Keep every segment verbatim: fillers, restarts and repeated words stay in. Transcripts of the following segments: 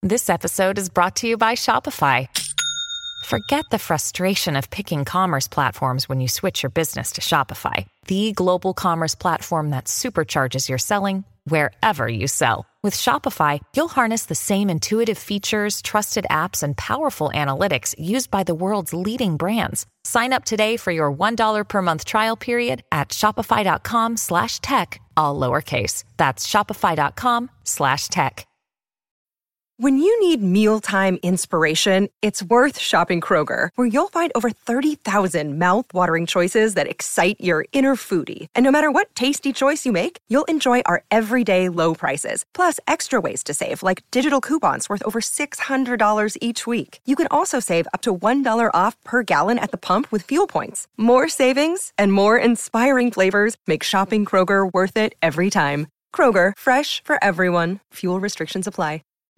This episode is brought to you by Shopify. Forget the frustration of picking commerce platforms when you switch your business to Shopify, the global commerce platform that supercharges your selling wherever you sell. With Shopify, you'll harness the same intuitive features, trusted apps, and powerful analytics used by the world's leading brands. Sign up today for your one dollar per month trial period at shopify.com slash tech, all lowercase. That's shopify.com slash tech. When you need mealtime inspiration, it's worth shopping Kroger, where you'll find over thirty thousand mouth-watering choices that excite your inner foodie. And no matter what tasty choice you make, you'll enjoy our everyday low prices, plus extra ways to save, like digital coupons worth over six hundred dollars each week. You can also save up to one dollar off per gallon at the pump with fuel points. More savings and more inspiring flavors make shopping Kroger worth it every time. Kroger, fresh for everyone. Fuel restrictions apply.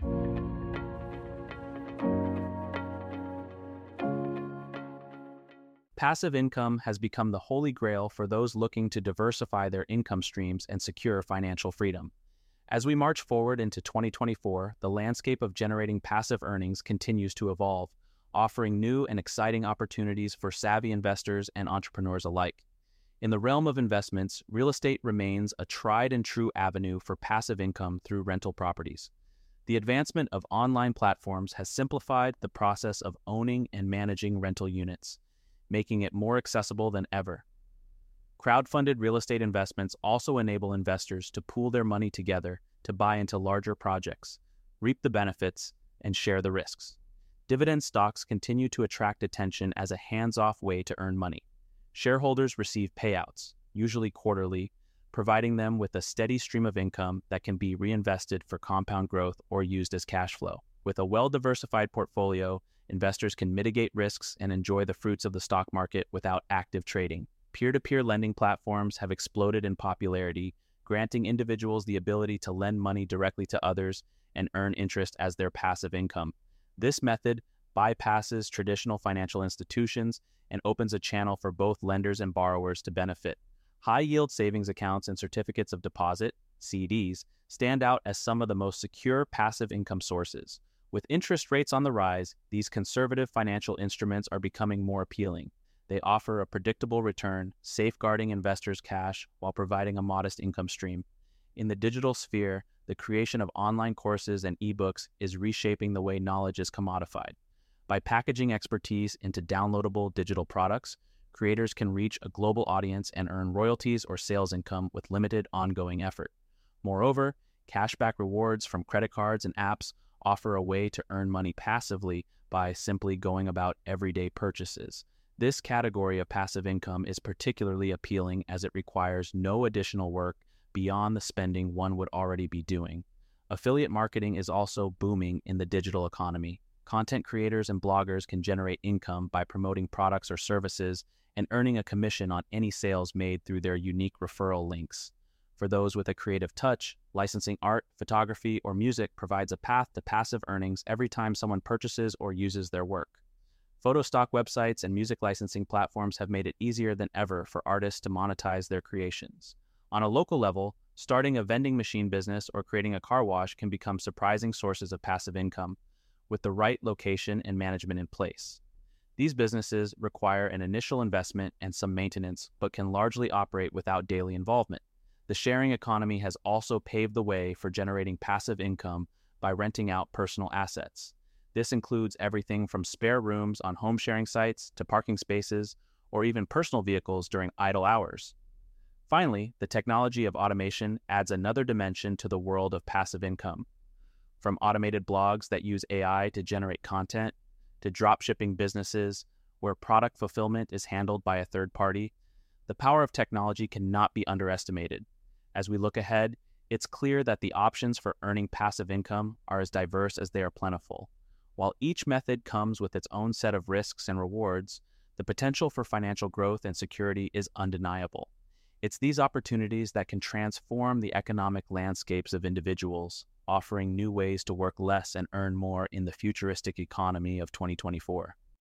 Passive income has become the holy grail for those looking to diversify their income streams and secure financial freedom. As we march forward into twenty twenty-four, the landscape of generating passive earnings continues to evolve, offering new and exciting opportunities for savvy investors and entrepreneurs alike. In the realm of investments, real estate remains a tried and true avenue for passive income through rental properties. The advancement of online platforms has simplified the process of owning and managing rental units, making it more accessible than ever. Crowdfunded real estate investments also enable investors to pool their money together to buy into larger projects, reap the benefits, and share the risks. Dividend stocks continue to attract attention as a hands-off way to earn money. Shareholders receive payouts, usually quarterly, providing them with a steady stream of income that can be reinvested for compound growth or used as cash flow. With a well-diversified portfolio, investors can mitigate risks and enjoy the fruits of the stock market without active trading. Peer-to-peer lending platforms have exploded in popularity, granting individuals the ability to lend money directly to others and earn interest as their passive income. This method bypasses traditional financial institutions and opens a channel for both lenders and borrowers to benefit. High-yield savings accounts and certificates of deposit, C Ds, stand out as some of the most secure passive income sources. With interest rates on the rise, these conservative financial instruments are becoming more appealing. They offer a predictable return, safeguarding investors' cash while providing a modest income stream. In the digital sphere, the creation of online courses and ebooks is reshaping the way knowledge is commodified. By packaging expertise into downloadable digital products, creators can reach a global audience and earn royalties or sales income with limited ongoing effort. Moreover, cashback rewards from credit cards and apps offer a way to earn money passively by simply going about everyday purchases. This category of passive income is particularly appealing as it requires no additional work beyond the spending one would already be doing. Affiliate marketing is also booming in the digital economy. Content creators and bloggers can generate income by promoting products or services and earning a commission on any sales made through their unique referral links. For those with a creative touch, licensing art, photography, or music provides a path to passive earnings every time someone purchases or uses their work. Photo stock websites and music licensing platforms have made it easier than ever for artists to monetize their creations. On a local level, starting a vending machine business or creating a car wash can become surprising sources of passive income, with the right location and management in place. These businesses require an initial investment and some maintenance, but can largely operate without daily involvement. The sharing economy has also paved the way for generating passive income by renting out personal assets. This includes everything from spare rooms on home sharing sites to parking spaces or even personal vehicles during idle hours. Finally, the technology of automation adds another dimension to the world of passive income. From automated blogs that use A I to generate content, to dropshipping businesses where product fulfillment is handled by a third party, the power of technology cannot be underestimated. As we look ahead, it's clear that the options for earning passive income are as diverse as they are plentiful. While each method comes with its own set of risks and rewards, the potential for financial growth and security is undeniable. It's these opportunities that can transform the economic landscapes of individuals, offering new ways to work less and earn more in the futuristic economy of twenty twenty-four.